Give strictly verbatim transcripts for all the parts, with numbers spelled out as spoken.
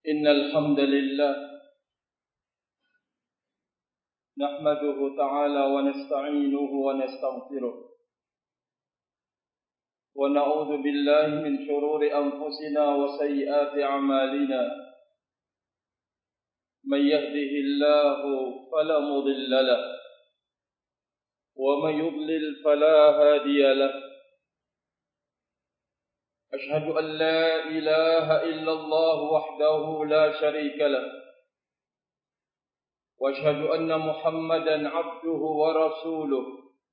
إن الحمد لله نحمده تعالى ونستعينه ونستغفره ونعوذ بالله من شرور أنفسنا وسيئات أعمالنا من يهده الله فلا مضل له ومن يضلل فلا هادي له أشهد أن لا إله إلا الله وحده لا شريك له وأشهد أن محمدا عبده ورسوله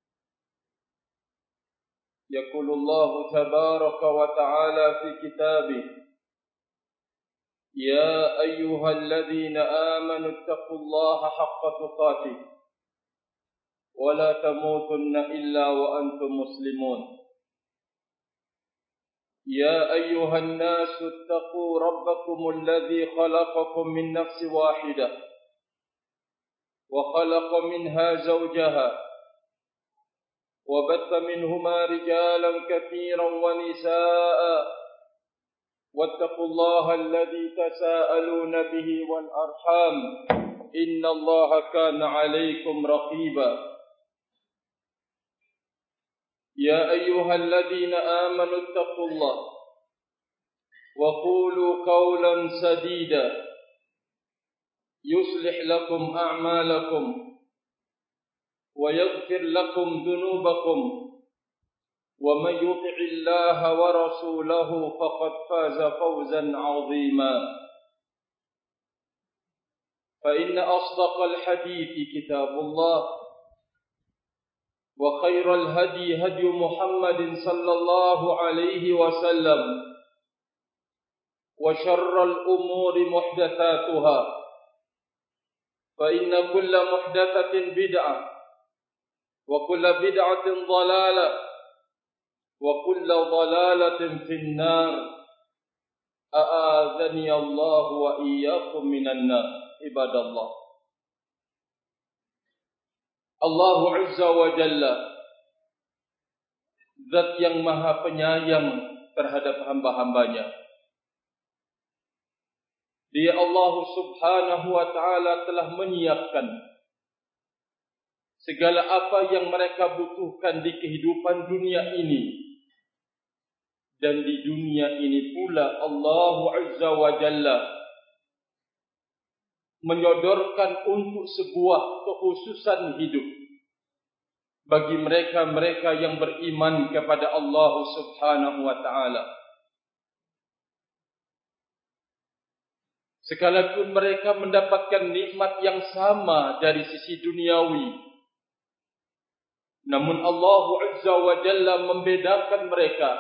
يقول الله تبارك وتعالى في كتابه يا أيها الذين آمنوا اتقوا الله حق تقاته ولا تموتن إلا وأنتم مسلمون يا أيها الناس اتقوا ربكم الذي خلقكم من نفس واحدة وخلق منها زوجها وبث منهما رجالا كثيرا ونساء واتقوا الله الذي تساءلون به والأرحام إن الله كان عليكم رقيبا يا أيها الذين آمنوا اتقوا الله وقولوا قولا سديدا يصلح لكم أعمالكم ويغفر لكم ذنوبكم ومن يطع الله ورسوله فقد فاز فوزا عظيما فإن أصدق الحديث كتاب الله وخير الهدي هدي محمد صلى الله عليه وسلم وشر الأمور محدثاتها فإن كل محدثة بدعة وكل بدعة ضلالة وكل ضلالة في النار أعاذني الله وإياكم من النار عباد الله. Allah Azza wa Jalla, Zat yang maha penyayang terhadap hamba-hambanya. Dia Allah Subhanahu wa Ta'ala telah menyiapkan segala apa yang mereka butuhkan di kehidupan dunia ini. Dan di dunia ini pula Allah Azza wa Jalla menyodorkan untuk sebuah kekhususan hidup bagi mereka-mereka yang beriman kepada Allah Subhanahu wa Ta'ala. Sekalipun mereka mendapatkan nikmat yang sama dari sisi duniawi, namun Allah Azza wa Jalla membedakan mereka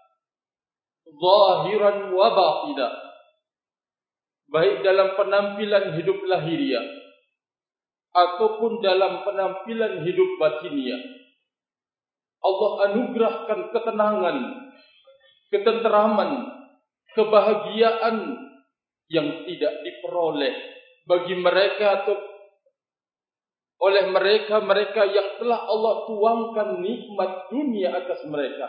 zahiran wa batinan, baik dalam penampilan hidup lahiriah ataupun dalam penampilan hidup batiniah. Allah anugerahkan ketenangan, ketenteraman, kebahagiaan yang tidak diperoleh bagi mereka atau oleh mereka-mereka yang telah Allah tuangkan nikmat dunia atas mereka.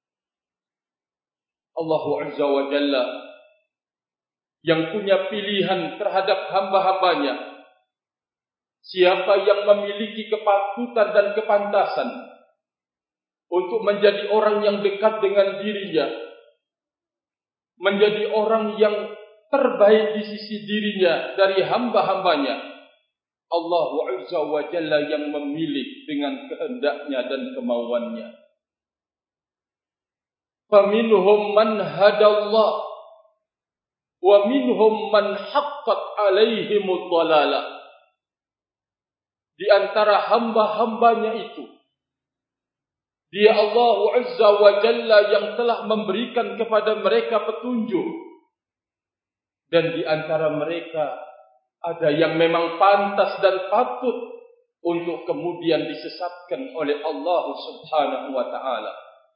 Allah Azza wa Jalla yang punya pilihan terhadap hamba-hambanya. Siapa yang memiliki kepatutan dan kepantasan untuk menjadi orang yang dekat dengan dirinya, menjadi orang yang terbaik di sisi dirinya dari hamba-hambanya, Allah Azza wa Jalla yang memilih dengan kehendaknya dan kemauannya. Faminhum man hadallah wa minhum man haqqat alaihimud dhalalah. Di antara hamba-hambanya itu, Dia Allah Azza wa Jalla yang telah memberikan kepada mereka petunjuk. Dan di antara mereka ada yang memang pantas dan patut untuk kemudian disesatkan oleh Allah Subhanahu wa Ta'ala.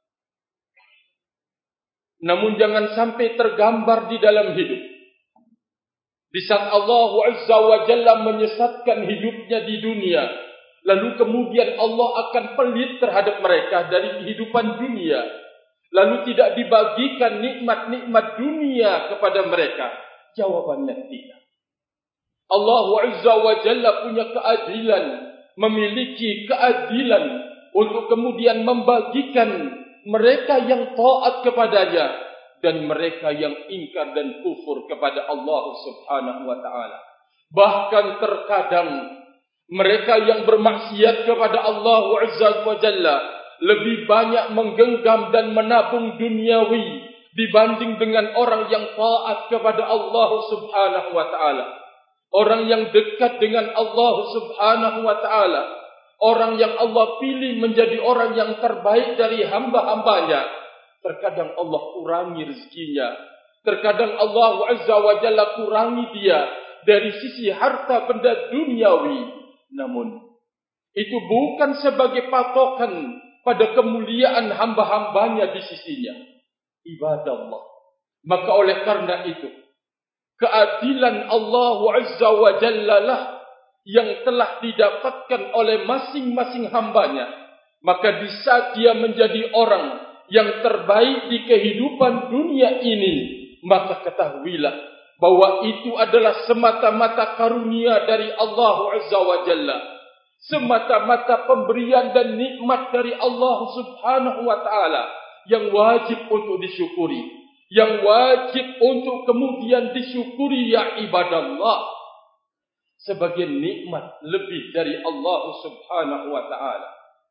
Namun jangan sampai tergambar di dalam hidup, di saat Allah Azza wa Jalla menyesatkan hidupnya di dunia, lalu kemudian Allah akan pelit terhadap mereka dari kehidupan dunia, lalu tidak dibagikan nikmat-nikmat dunia kepada mereka, Jawabannya tidak. Allah Azza wa Jalla punya keadilan, memiliki keadilan untuk kemudian membagikan mereka yang taat kepadanya dan mereka yang ingkar dan kufur kepada Allah Subhanahu wa taala. Bahkan terkadang mereka yang bermaksiat kepada Allah Azza wa Jalla lebih banyak menggenggam dan menabung duniawi dibanding dengan orang yang taat kepada Allah Subhanahu wa taala. Orang yang dekat dengan Allah Subhanahu wa taala, orang yang Allah pilih menjadi orang yang terbaik dari hamba-hambanya, terkadang Allah kurangi rezekinya, terkadang Allah Azza wa Jalla kurangi dia dari sisi harta benda duniawi. Namun itu bukan sebagai patokan pada kemuliaan hamba-hambanya di sisinya. Ibadah Allah. Maka oleh karena itu, keadilan Allah Azza wa Jalla lah yang telah didapatkan oleh masing-masing hambanya. Maka di saat dia menjadi orang yang terbaik di kehidupan dunia ini, maka ketahuilah bahwa itu adalah semata-mata karunia dari Allah Azza wa Jalla, semata-mata pemberian dan nikmat dari Allah Subhanahu wa taala yang wajib untuk disyukuri, yang wajib untuk kemudian disyukuri ya ibadallah. Sebagai nikmat lebih dari Allah Subhanahu wa taala.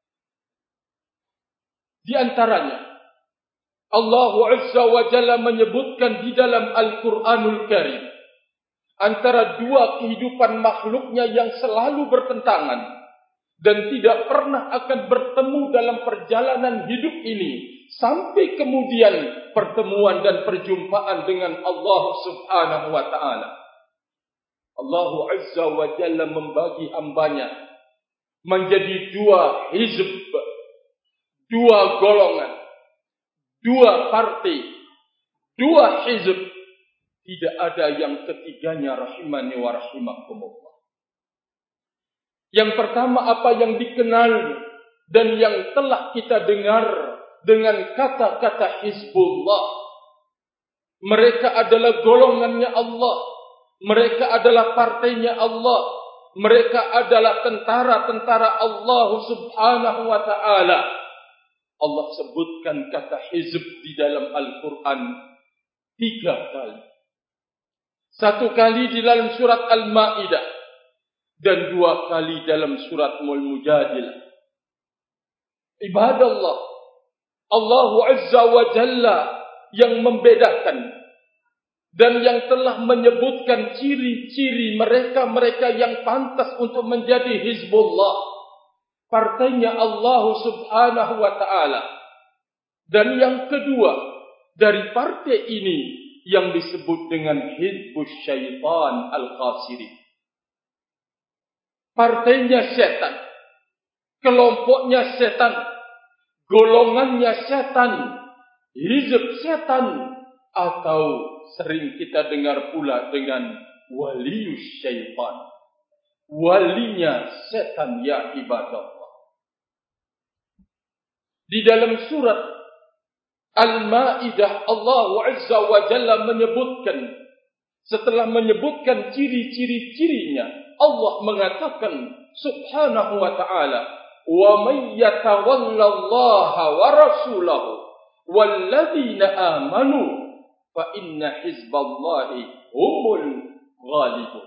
Di antaranya Allah Azza wa Jalla menyebutkan di dalam Al-Qur'anul Karim antara dua kehidupan makhluknya yang selalu bertentangan dan tidak pernah akan bertemu dalam perjalanan hidup ini sampai kemudian pertemuan dan perjumpaan dengan Allah Subhanahu wa taala. Allah Azza wa Jalla membagi hambanya menjadi dua hizb, dua golongan, dua parti, dua hizb. Tidak ada yang ketiganya rahimani wa rahimakumullah. Yang pertama apa yang dikenal dan yang telah kita dengar dengan kata-kata Hizbullah. Mereka adalah golongannya Allah. Mereka adalah partainya Allah. Mereka adalah tentara-tentara Allah Subhanahu wa ta'ala. Allah sebutkan kata hizb di dalam Al-Quran tiga kali. Satu kali di dalam surat Al-Ma'idah dan dua kali dalam surat Al-Mujadilah. Ibadah Allah, Allah Azza wa Jalla yang membedakan dan yang telah menyebutkan ciri-ciri mereka-mereka yang pantas untuk menjadi Hizbullah, partainya Allah Subhanahu wa ta'ala. Dan yang kedua dari partai ini yang disebut dengan Hizbus Syaitan Al-Qasiri, partainya setan, kelompoknya setan, golongannya setan, hizb setan, atau sering kita dengar pula dengan waliyus syaitan, walinya setan ya ibadah. Di dalam surat Al-Ma'idah Allah Azza wa Jalla menyebutkan, setelah menyebutkan ciri-ciri-cirinya, Allah mengatakan Subhanahu wa ta'ala, wa may yatawallallaha wa rasulahu walladzina amanu fa inna hizballahi humul ghalibun.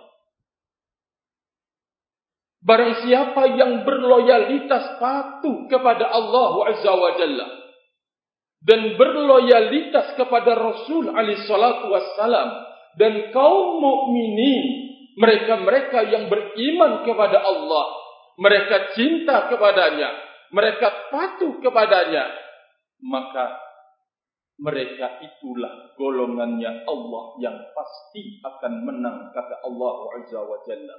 Barang siapa yang berloyalitas patuh kepada Allah Azza wa Jalla dan berloyalitas kepada Rasul alaihi salatu wassalam dan kaum mukminin, mereka-mereka yang beriman kepada Allah, mereka cinta kepadanya, mereka patuh kepadanya, maka mereka itulah golongannya Allah yang pasti akan menang, kata Allah Azza wa Jalla.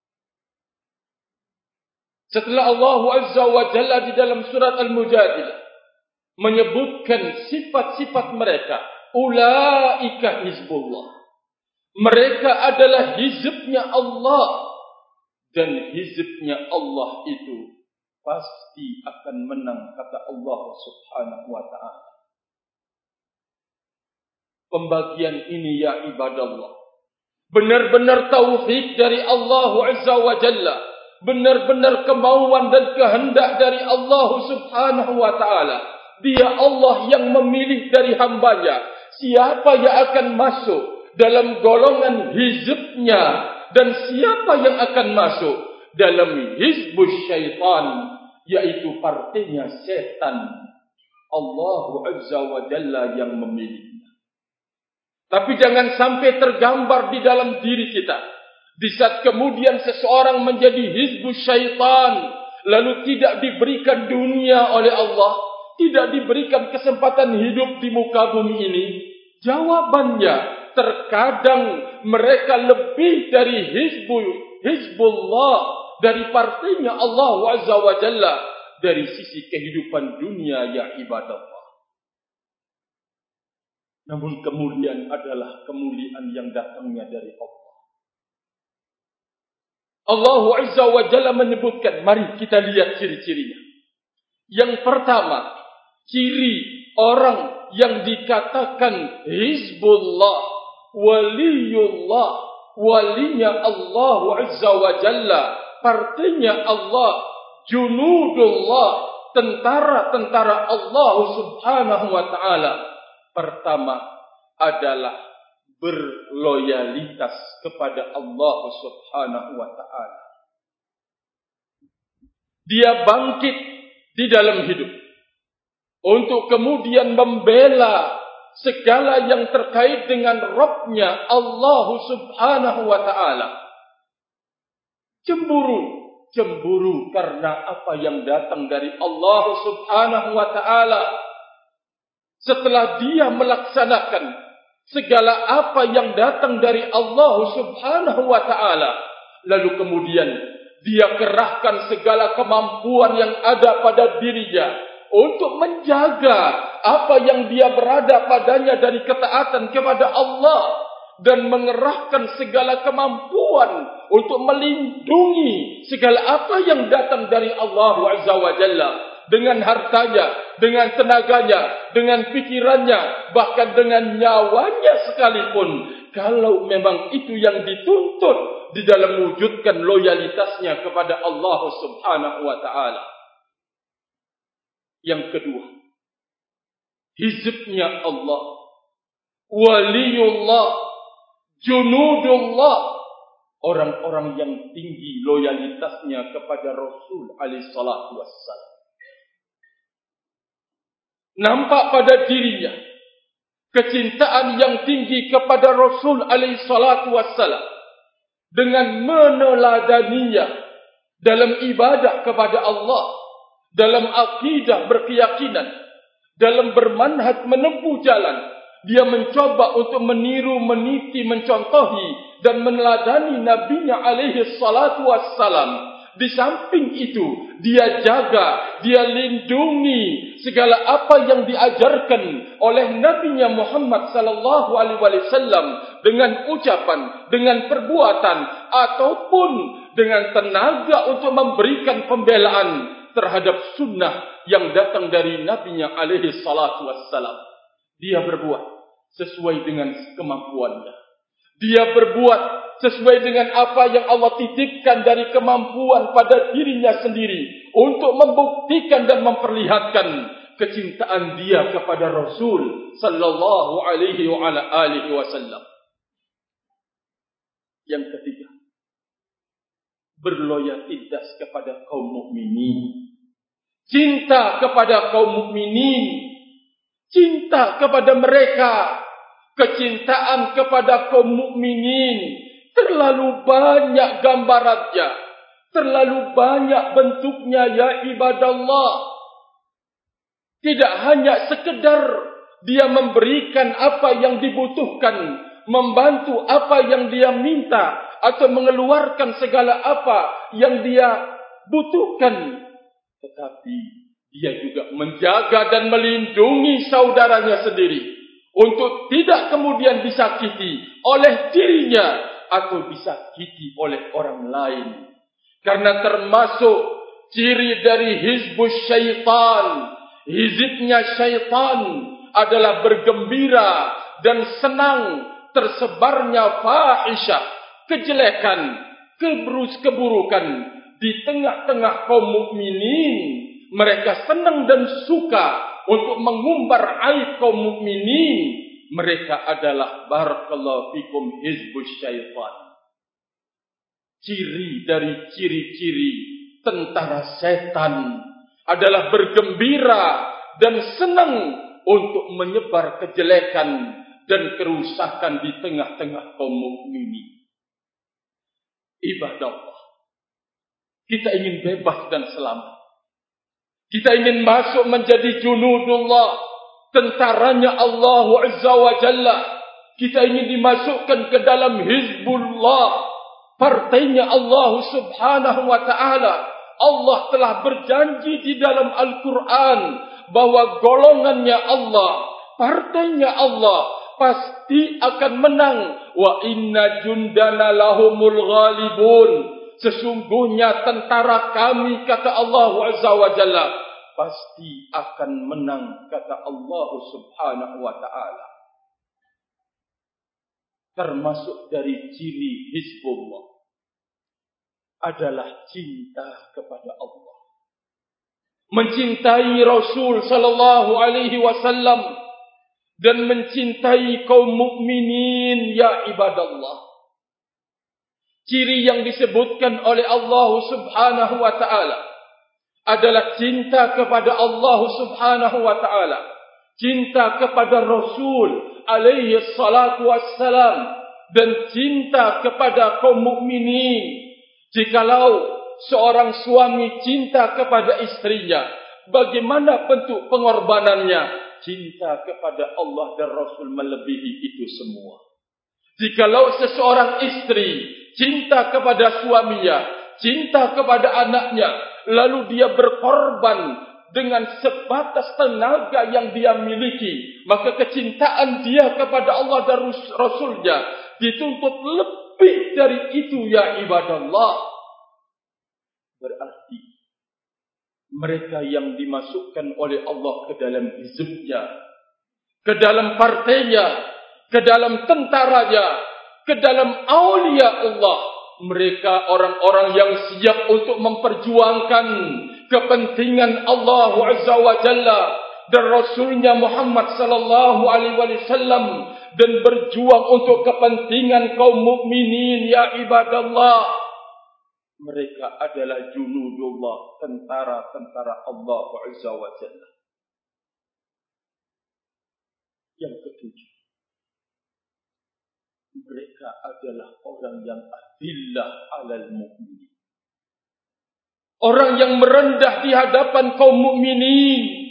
Setelah Allah Azza wa Jalla di dalam surat Al-Mujadilah menyebutkan sifat-sifat mereka, ulaika hizbullah, mereka adalah hizbnya Allah, dan hizbnya Allah itu pasti akan menang, kata Allah Subhanahu wa ta'ala. Pembagian ini ya ibadallah benar-benar tauhid dari Allah Azza wa Jalla, benar-benar kemauan dan kehendak dari Allah Subhanahu wa Ta'ala. Dia Allah yang memilih dari hambanya siapa yang akan masuk dalam golongan hizbnya dan siapa yang akan masuk dalam hizbus syaitan, yaitu partainya setan. Allah Azza wa Jalla yang memilihnya. Tapi jangan sampai tergambar di dalam diri kita, di saat kemudian seseorang menjadi hizbus syaitan, lalu tidak diberikan dunia oleh Allah, tidak diberikan kesempatan hidup di muka bumi ini. Jawabannya, terkadang mereka lebih dari hizbul, hizbullah, dari partainya Allah Azza wa Jalla, dari sisi kehidupan dunia ya ibadah. Namun kemuliaan adalah kemuliaan yang datangnya dari Allah. Allah Azza wa Jalla menyebutkan, mari kita lihat ciri-cirinya. Yang pertama, ciri orang yang dikatakan hizbullah, waliyullah, walinya Allah Azza wa Jalla, partainya Allah, junudullah, tentara-tentara Allah Subhanahu wa Ta'ala. Pertama adalah berloyalitas kepada Allah Subhanahu wa Ta'ala. Dia bangkit di dalam hidup untuk kemudian membela segala yang terkait dengan Rabb-Nya Allah Subhanahu wa Ta'ala. Cemburu, cemburu karena apa yang datang dari Allah Subhanahu wa Ta'ala. Setelah dia melaksanakan segala apa yang datang dari Allah Subhanahu wa Ta'ala, lalu kemudian dia kerahkan segala kemampuan yang ada pada dirinya untuk menjaga apa yang dia berada padanya dari ketaatan kepada Allah, dan mengerahkan segala kemampuan untuk melindungi segala apa yang datang dari Allah Azza wa Jalla, dengan hartanya, dengan tenaganya, dengan pikirannya, bahkan dengan nyawanya sekalipun, kalau memang itu yang dituntut di dalam mewujudkan loyalitasnya kepada Allah Subhanahu wa Ta'ala. Yang kedua, hizbnya Allah, waliyullah, junudullah, orang-orang yang tinggi loyalitasnya kepada Rasul alaihi salatu wassalam. Nampak pada dirinya kecintaan yang tinggi kepada Rasul alaihi salatu wassalam, dengan meneladaninya dalam ibadah kepada Allah, dalam akidah berkeyakinan, dalam bermanhaj menempuh jalan. Dia mencoba untuk meniru, meniti, mencontohi dan meneladani nabinya alaihi salatu wassalam. Di samping itu, dia jaga, dia lindungi segala apa yang diajarkan oleh nabinya Muhammad sallallahu alaihi wasallam, dengan ucapan, dengan perbuatan, ataupun dengan tenaga untuk memberikan pembelaan terhadap sunnah yang datang dari nabinya alaihi salatu wassalam. Dia berbuat sesuai dengan kemampuannya. Dia berbuat sesuai dengan apa yang Allah titipkan dari kemampuan pada dirinya sendiri, untuk membuktikan dan memperlihatkan kecintaan dia kepada Rasul sallallahu alaihi wa ala alihi wasallam. Yang ketiga, berloyalitas kepada kaum mukminin. Cinta kepada kaum mukminin, cinta kepada mereka. Kecintaan kepada kaum mukminin terlalu banyak gambarannya, terlalu banyak bentuknya ya ibadallah. Tidak hanya sekedar dia memberikan apa yang dibutuhkan, membantu apa yang dia minta, atau mengeluarkan segala apa yang dia butuhkan, tetapi dia juga menjaga dan melindungi saudaranya sendiri untuk tidak kemudian disakiti oleh dirinya atau disakiti oleh orang lain. Karena termasuk ciri dari hizbus syaitan, hizibnya syaitan adalah bergembira dan senang tersebarnya fahisyah, kejelekan, keburus keburukan di tengah-tengah kaum mukminin. Mereka senang dan suka untuk mengumbar aib kaum mukminin. Mereka adalah barakallahu fikum hizbus syaitan. Ciri dari ciri-ciri tentara setan adalah bergembira dan senang untuk menyebar kejelekan dan kerusakan di tengah-tengah kaum mukminin. Ibadah Allah, kita ingin bebas dan selamat. Kita ingin masuk menjadi junudullah, tentaranya Allah Azza wa Jalla. Kita ingin dimasukkan ke dalam Hizbullah, partainya Allah Subhanahu wa ta'ala. Allah telah berjanji di dalam Al-Quran bahwa golongannya Allah, partainya Allah pasti akan menang. Wa inna jundana lahumul ghalibun. Sesungguhnya tentara kami, kata Allah Azza wa Jalla, pasti akan menang, kata Allah Subhanahu wa ta'ala. Termasuk dari ciri Hizbullah adalah cinta kepada Allah, mencintai Rasul sallallahu alaihi wasallam, dan mencintai kaum mukminin, ya ibadallah. Ciri yang disebutkan oleh Allah Subhanahu wa ta'ala adalah cinta kepada Allah Subhanahu wa ta'ala, cinta kepada Rasul alaihi salatu wassalam, dan cinta kepada kaum mukminin. Jikalau seorang suami cinta kepada istrinya, bagaimana bentuk pengorbanannya? Cinta kepada Allah dan Rasul melebihi itu semua. Jikalau seseorang istri cinta kepada suaminya, cinta kepada anaknya, lalu dia berkorban dengan sebatas tenaga yang dia miliki, maka kecintaan dia kepada Allah dan Rasulnya dituntut lebih dari itu, ya ibadallah. Berarti mereka yang dimasukkan oleh Allah ke dalam hizbnya, ke dalam partainya, ke dalam tentaranya, ke dalam aulia Allah, mereka orang-orang yang siap untuk memperjuangkan kepentingan Allah Azza wa Jalla dan Rasulnya Muhammad sallallahu alaihi wasallam, dan berjuang untuk kepentingan kaum mukminin, ya ibadallah. Mereka adalah junudullah, tentara-tentara Allah Azza wa Jalla. Yang ketujuh, mereka adalah orang yang adillah alal mukminin, orang yang merendah di hadapan kaum mukminin.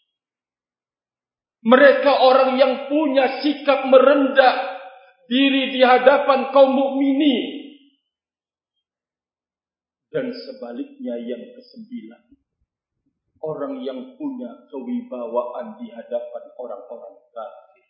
Mereka orang yang punya sikap merendah diri di hadapan kaum mukminin. Dan sebaliknya yang kesembilan, orang yang punya kewibawaan di hadapan orang-orang kafir.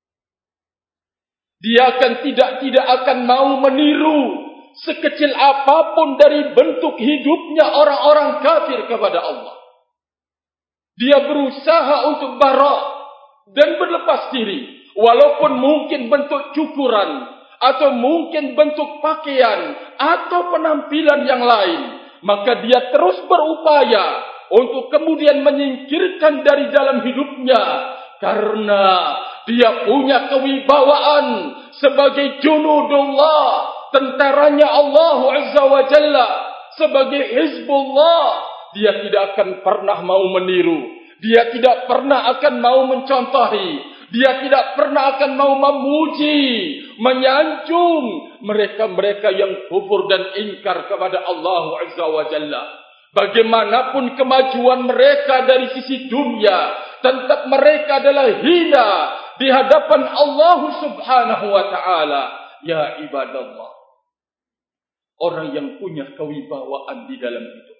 Dia akan tidak tidak akan mau meniru sekecil apapun dari bentuk hidupnya orang-orang kafir kepada Allah. Dia berusaha untuk bara' dan berlepas diri, walaupun mungkin bentuk cukuran, atau mungkin bentuk pakaian, atau penampilan yang lain, maka dia terus berupaya untuk kemudian menyingkirkan dari dalam hidupnya, karena dia punya kewibawaan sebagai junudullah, tentaranya Allah Azza wa Jalla, sebagai Hizbullah. Dia tidak akan pernah mau meniru, dia tidak pernah akan mau mencontohi, dia tidak pernah akan mau memuji, menyanjung mereka-mereka yang kufur dan ingkar kepada Allah Azza wa Jalla. Bagaimanapun kemajuan mereka dari sisi dunia, tetap mereka adalah hina di hadapan Allah Subhanahu wa ta'ala. Ya ibadallah, orang yang punya kewibawaan di dalam hidup.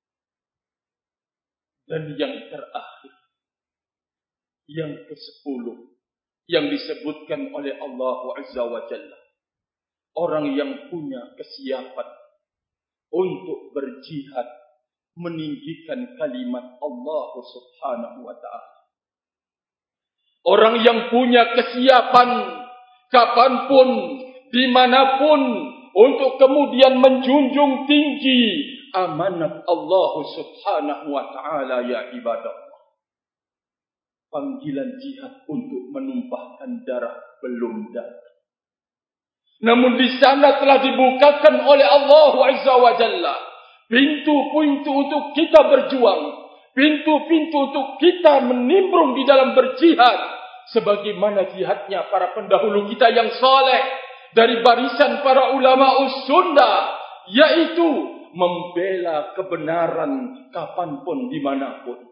Dan yang terakhir, yang kesepuluh, yang disebutkan oleh Allah Azza wa Jalla, orang yang punya kesiapan untuk berjihad meninggikan kalimat Allah Subhanahu wa ta'ala. Orang yang punya kesiapan kapanpun, dimanapun, untuk kemudian menjunjung tinggi amanat Allah Subhanahu wa ta'ala, ya ibadah. Panggilan jihad untuk menumpahkan darah belum datang. Namun di sana telah dibukakan oleh Allah Azza wa Jalla pintu-pintu untuk kita berjuang, pintu-pintu untuk kita menimbrung di dalam berjihad, sebagaimana jihadnya para pendahulu kita yang saleh dari barisan para ulama us-sunnah, yaitu membela kebenaran kapanpun, dimanapun.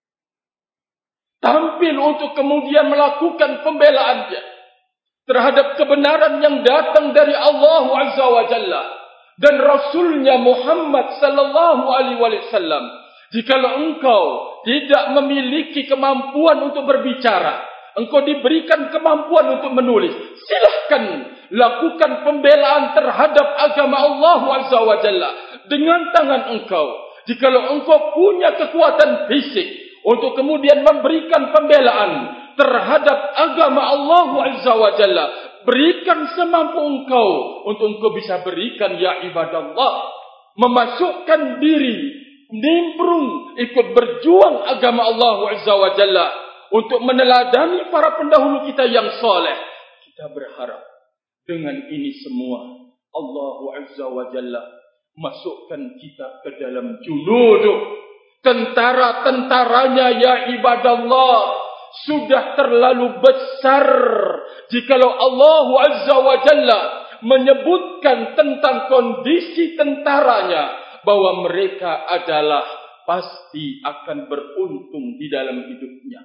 Tampil untuk kemudian melakukan pembelaannya terhadap kebenaran yang datang dari Allah Azza wa Jalla dan Rasulnya Muhammad sallallahu alaihi wasallam. Jikalau engkau tidak memiliki kemampuan untuk berbicara, engkau diberikan kemampuan untuk menulis, silahkan lakukan pembelaan terhadap agama Allah Azza wa Jalla dengan tangan engkau. Jikalau engkau punya kekuatan fisik untuk kemudian memberikan pembelaan terhadap agama Allah Azza wa Jalla, berikan semampu engkau untuk engkau bisa berikan, ya ibadallah. Memasukkan diri, nimbrung, ikut berjuang agama Allah Azza wa Jalla untuk meneladani para pendahulu kita yang saleh. Kita berharap dengan ini semua Allah Azza wa Jalla masukkan kita ke dalam junuduh, tentara-tentaranya, ya ibadallah. Sudah terlalu besar jikalau Allah Azza wa Jalla menyebutkan tentang kondisi tentaranya bahwa mereka adalah pasti akan beruntung di dalam hidupnya.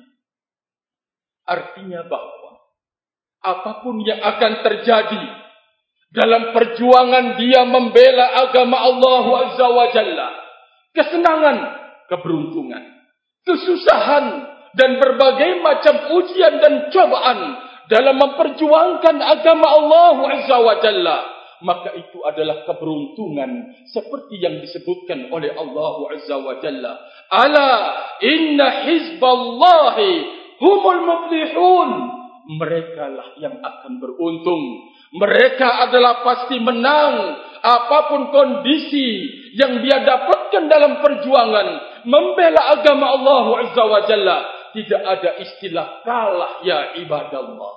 Artinya bahwa apapun yang akan terjadi dalam perjuangan dia membela agama Allah Azza wa Jalla, kesenangan, keberuntungan, kesusahan, dan berbagai macam ujian dan cobaan dalam memperjuangkan agama Allah Azza wa Jalla, maka itu adalah keberuntungan seperti yang disebutkan oleh Allah Azza wa Jalla. Ala inna hizballahi humul muflihun. Mereka lah yang akan beruntung. Mereka adalah pasti menang apapun kondisi yang dia dapatkan dalam perjuangan membela agama Allah Azza wa Jalla. Tidak ada istilah kalah, ya ibadallah.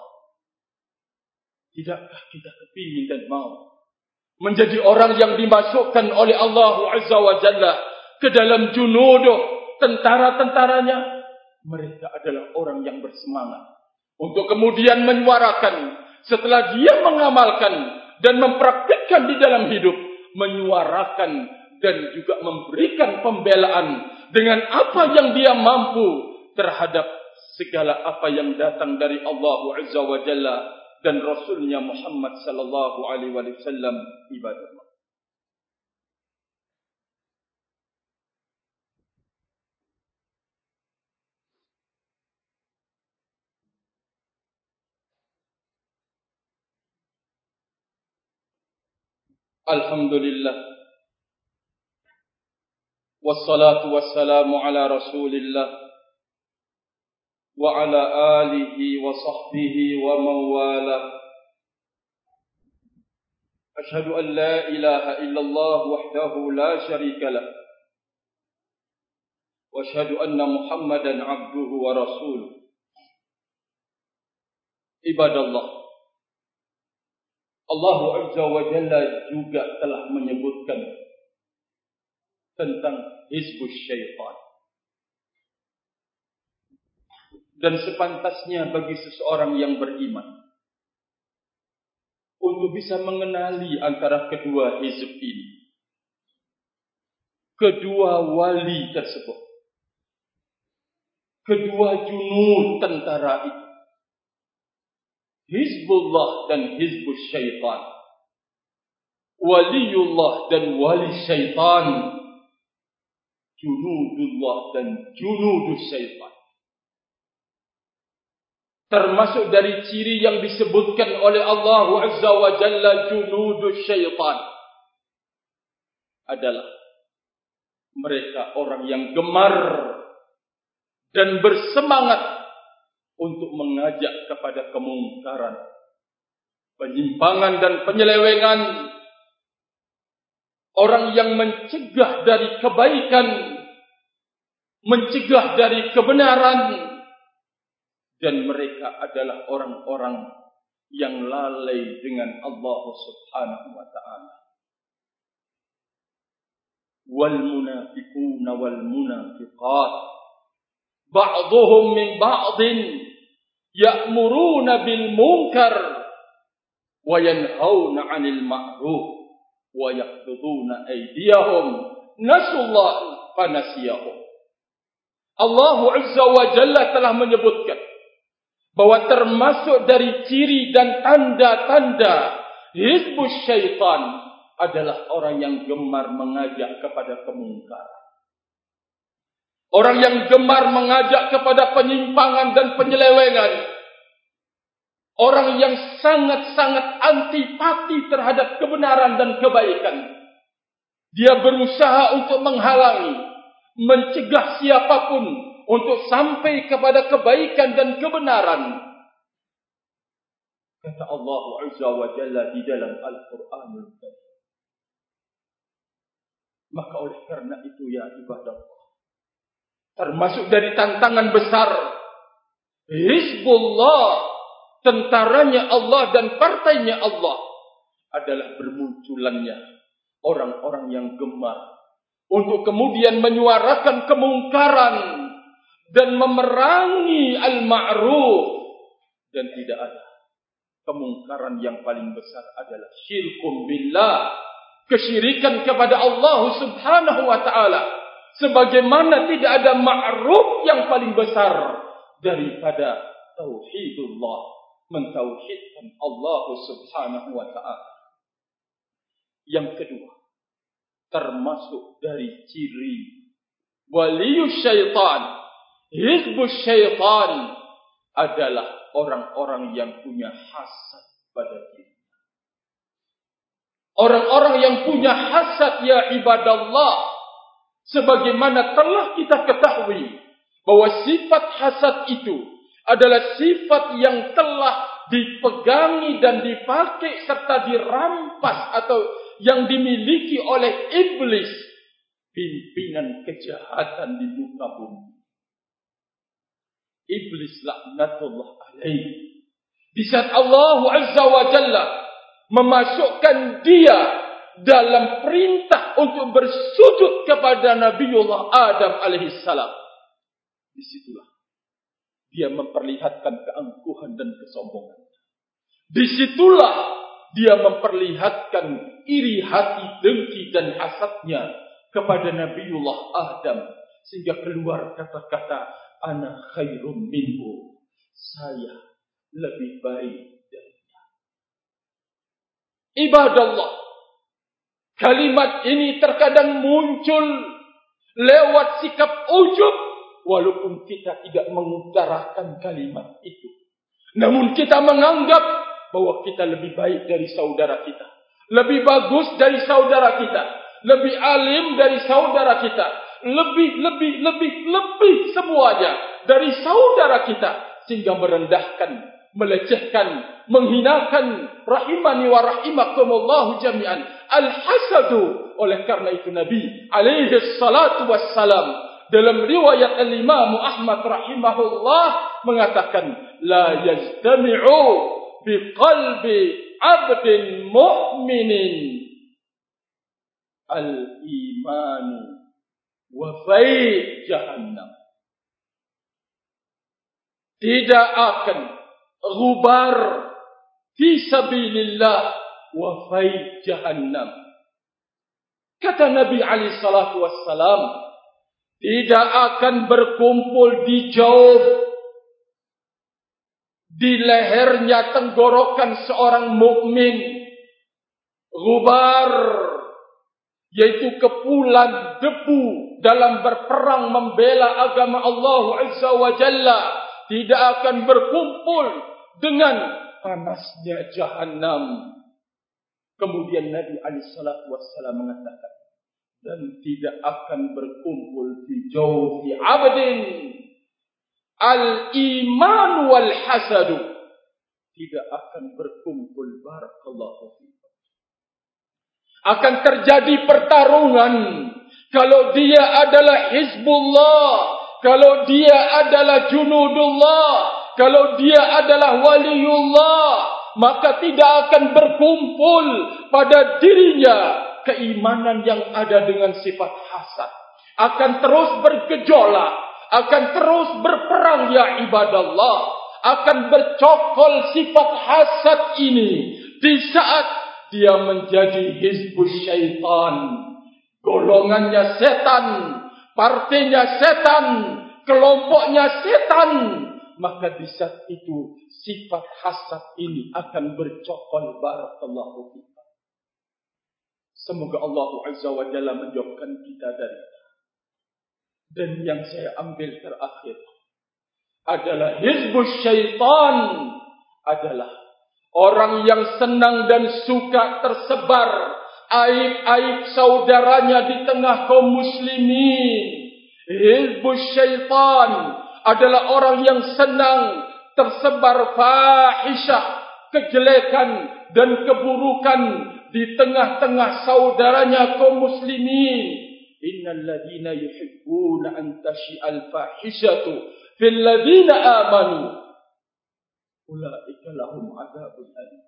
Tidakkah kita kepingin dan mau menjadi orang yang dimasukkan oleh Allah Azza wa Jalla ke dalam junuduh, tentara-tentaranya? Mereka adalah orang yang bersemangat untuk kemudian menyuarakan, setelah dia mengamalkan dan mempraktikkan di dalam hidup, menyuarakan dan juga memberikan pembelaan dengan apa yang dia mampu terhadap segala apa yang datang dari Allah Azza wa Jalla dan Rasulnya Muhammad sallallahu alaihi wasallam. Ibadah. Alhamdulillah, wassalatu wassalamu ala Rasulillah wa ala alihi wa sahbihi wa mawala. Ashhadu an la ilaha illallah wahdahu la syarika lah, wa ashhadu anna Muhammadan abduhu wa rasuluh. Ibadallah, Allah Azza wa Jalla juga telah menyebutkan tentang hizbus syaitan. Dan sepantasnya bagi seseorang yang beriman untuk bisa mengenali antara kedua hizb ini, kedua wali tersebut, kedua junud tentara itu, Hizbullah dan Hizbus Syaitan, Waliullah dan Wali Syaitan, Junudullah dan Junudus Syaitan. Termasuk dari ciri yang disebutkan oleh Allah Azza wa Jalla Junudus Syaitan adalah mereka orang yang gemar dan bersemangat untuk mengajak kepada kemungkaran, penyimpangan dan penyelewengan, orang yang mencegah dari kebaikan, mencegah dari kebenaran, dan mereka adalah orang-orang yang lalai dengan Allah Subhanahu wa ta'ala. Wal munafiquna wal munafiqat ba'dhuhum min ba'din ya'muruna bil munkar wa yanhauna 'anil ma'ruf wa yaqbiduna aydiyahum nasallaha fanasiyahum. Allah Azza wa Jalla telah menyebutkan bahwa termasuk dari ciri dan tanda-tanda hizbus syaitan adalah orang yang gemar mengajak kepada kemungkaran. Orang yang gemar mengajak kepada penyimpangan dan penyelewengan. Orang yang sangat-sangat antipati terhadap kebenaran dan kebaikan. Dia berusaha untuk menghalangi, mencegah siapapun untuk sampai kepada kebaikan dan kebenaran. Kata Allah Azza wa Jalla di dalam Al-Quranul Karim. Maka oleh karena itu ya ibadah Allah, termasuk dari tantangan besar Hizbullah, tentaranya Allah dan partainya Allah, adalah bermunculannya orang-orang yang gemar untuk kemudian menyuarakan kemungkaran dan memerangi al-ma'ruf. Dan tidak ada kemungkaran yang paling besar adalah syirkum billah, kesyirikan kepada Allah Subhanahu wa ta'ala. Sebagaimana tidak ada ma'ruf yang paling besar daripada tauhidullah, mentauhidkan Allah Subhanahu wa ta'ala. Yang kedua, termasuk dari ciri waliyus syaitan, hizbus syaitan, adalah orang-orang yang punya hasad pada diri. Orang-orang yang punya hasad ya ibadallah, sebagaimana telah kita ketahui bahwa sifat hasad itu adalah sifat yang telah dipegangi dan dipakai serta dirampas atau yang dimiliki oleh iblis, pimpinan kejahatan di muka bumi. Iblis laknatullah alaihi. Di saat Allah Azza wa Jalla memasukkan dia dalam perintah untuk bersujud kepada Nabiullah Adam alaihissalam, disitulah dia memperlihatkan keangkuhan dan kesombongan. Disitulah dia memperlihatkan iri hati, dengki dan hasadnya kepada Nabiullah Adam, sehingga keluar kata-kata ana khairum minhu, saya lebih baik darinya. Ibadallah, kalimat ini terkadang muncul lewat sikap ujub, walaupun kita tidak mengutarakan kalimat itu. Namun kita menganggap bahwa kita lebih baik dari saudara kita, lebih bagus dari saudara kita, lebih alim dari saudara kita, lebih, lebih, lebih, lebih semuanya dari saudara kita, sehingga merendahkan, melecehkan, menghinakan rahimani wa rahimakumullahu jami'an. Al-hasadu, oleh karena itu Nabi alaihi salatu wassalam dalam riwayat al-Imam Ahmad rahimahullah mengatakan, la yajtami'u bi qalbi abdin mu'minin al-imanu wa fai jahannam. Tidak akan ghubar fi sabilillah wa fai jahannam. Kata Nabi alaihi salatu wassalam, tidak akan berkumpul di jauh di lehernya tenggorokan seorang mukmin ghubar, yaitu kepulan debu dalam berperang membela agama Allah Azza wa Jalla, tidak akan berkumpul dengan panasnya jahannam. Kemudian Nabi alaihi salatu wassalam mengatakan, dan tidak akan berkumpul fi jawfi abdin al-iman wal hasadu. tidak akan berkumpul. Barakallahu fikum. Akan terjadi pertarungan. Kalau dia adalah Hizbullah, kalau dia adalah Junudullah, kalau dia adalah Waliullah, maka tidak akan berkumpul pada dirinya keimanan yang ada dengan sifat hasad. Akan terus bergejolak, akan terus berperang ya ibadallah, akan bercokol sifat hasad ini di saat dia menjadi hizbus syaitan, golongannya setan, partainya setan, kelompoknya setan. Maka di saat itu sifat hasad ini akan bercokol. Barakallahu fikum. Semoga Allah Azza wa Jalla menjauhkan kita dari. Dan yang saya ambil terakhir adalah hizbus syaitan adalah orang yang senang dan suka tersebar aib-aib saudaranya di tengah kaum muslimin. Hizbus syaitan adalah orang yang senang tersebar fahisyah, kejelekan dan keburukan di tengah-tengah saudaranya kaum muslimin. Innal ladina yuhibbuna an tashi'al fahishatu fil ladina amanu ulaika lahum adzabun alim.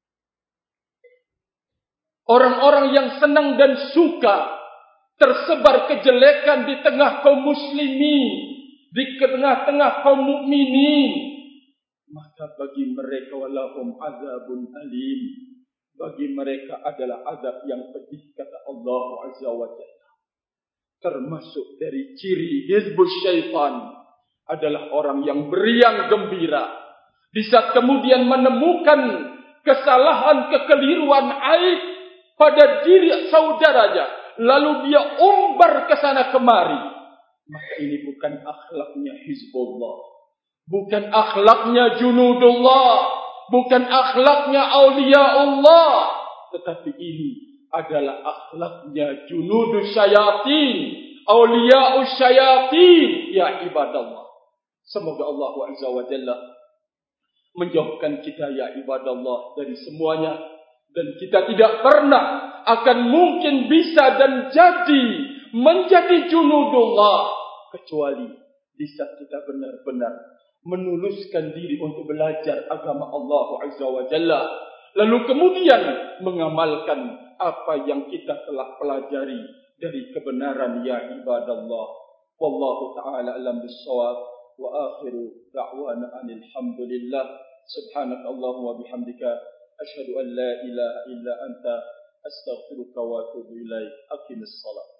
Orang-orang yang senang dan suka tersebar kejelekan di tengah kaum muslimin, di tengah-tengah kaum mukminin, maka bagi mereka walahum adzabun alim, bagi mereka adalah azab yang pedih, kata Allah Azza wa Jalla. Termasuk dari ciri hizbus syaitan adalah orang yang beriang gembira di saat kemudian menemukan kesalahan, kekeliruan, aib pada diri saudaranya, lalu dia umbar ke sana kemari. Maka ini bukan akhlaknya Hizbullah, bukan akhlaknya Junudullah, bukan akhlaknya Auliaullah, tetapi ini adalah akhlaknya Junudus Syayatin, Auliaus Syayatin ya ibadallah. Semoga Allah Azza wa Jalla menjauhkan kita ya ibadallah dari semuanya, dan kita tidak pernah akan mungkin bisa dan jadi menjadi Junudullah kecuali di saat kita benar-benar menuluskan diri untuk belajar agama Allah Azza wa Jalla, lalu kemudian mengamalkan apa yang kita telah pelajari dari kebenaran ya ibadallah. Wallahu ta'ala alam bis-shawab wa akhiru da'wana alhamdulillah. Subhanakallahumma wa bihamdika asyhadu an la ilaha illa anta astaghfiruka wa atubu ilaik. Aqimis shalah.